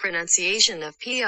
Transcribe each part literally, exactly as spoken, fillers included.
pronunciation of P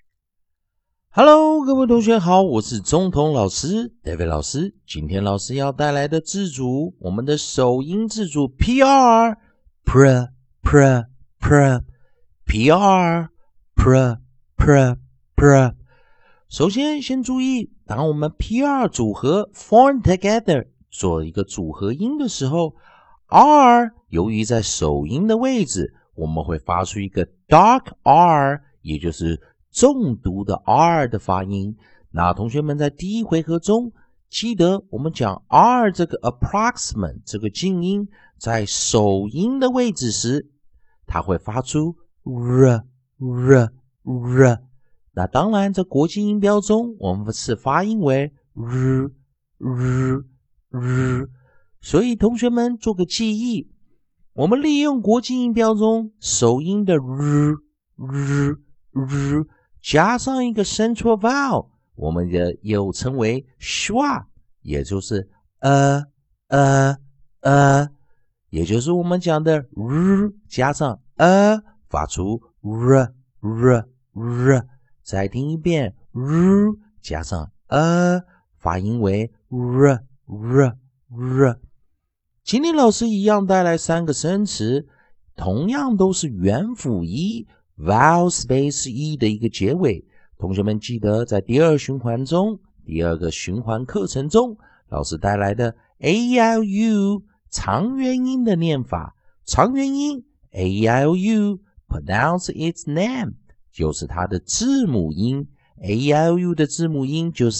R。Hello， 各位同学好，我是中童老师 David 老师。今天老师要带来的字组，我们的首音字组 P R，pr pr pr P R pr pr pr。首先，先注意，当我们 P R 组合 form together 做一个组合音的时候 ，R 由于在首音的位置，我们会发出一个 dark R， 也就是重读的 R 的发音。那同学们在第一回合中，记得我们讲 R 这个 approximate 这个静音在首音的位置时，它会发出 r r r。那当然，在国际音标中，我们是发音为 r r r。所以同学们做个记忆，我们利用国际音标中首音的 r r r 加上一个 central vowel， 我们的又称为 schwa， 也就是呃呃呃，也就是我们讲的 r 加上呃，发出 r r r。再听一遍 r 加上呃，发音为 r r r。今天老师一样带来三个生词，同样都是元辅一 vowel space 一的一个结尾。同学们记得在第二循环中，第二个循环课程中，老师带来的 A E I O U 长元音的念法。长元音 A E I O U pronounce its name， 就是它的字母音。A E I O U 的字母音就是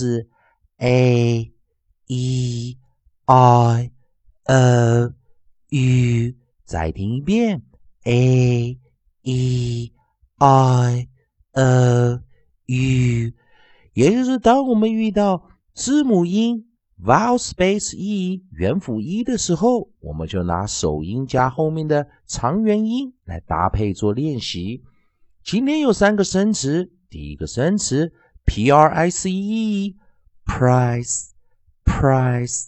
A E I O U。再听一遍 A E I O U。也就是当我们遇到字母音 vowel space 一元辅一的时候，我们就拿首音加后面的长元音来搭配做练习。今天有三个生词，第一个生词 P R I C E price price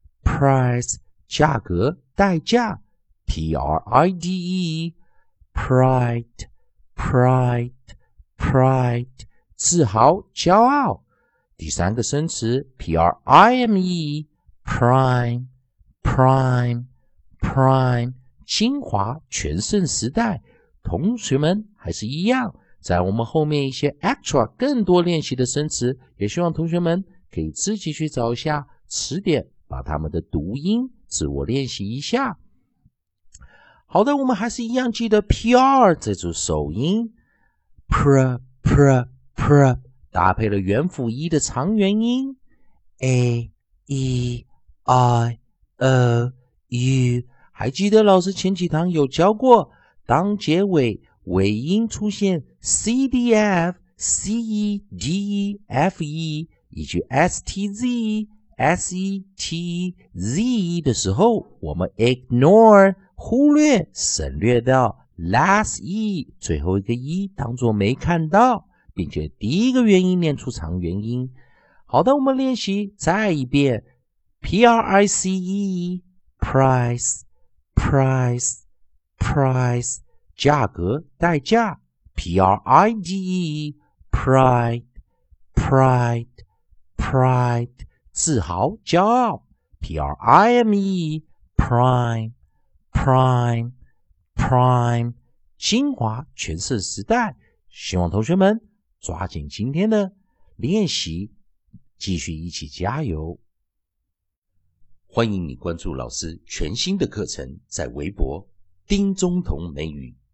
price 价格代价 P R I D E pride pride pride 自豪骄傲。第三个生词 P R I M E prime prime prime 精华全盛时代。同学们还是一样，在我们后面一些 extra 更多练习的生词，也希望同学们可以自己去找一下词典，把它们的读音自我练习一下。好的，我们还是一样记得 P R 这组首音 pr pr pr 搭配了元辅一的长元音 A E I O U。 还记得老师前几堂有教过，当结尾尾音出现 C D F C E D E F E 以及 S T Z S E T Z E 的时候，我们 ignore 忽略省略掉 last E 最后一个 E 当作没看到，并且第一个元音念出长元音。好的，我们练习再一遍 P R I C E price price price 价格代价 P R I D E pride pride pride 自豪骄傲 P R I M E prime prime prime 精华全盛时代。希望同学们抓紧今天的练习，继续一起加油。欢迎你关注老师全新的课程，在微博丁中童美语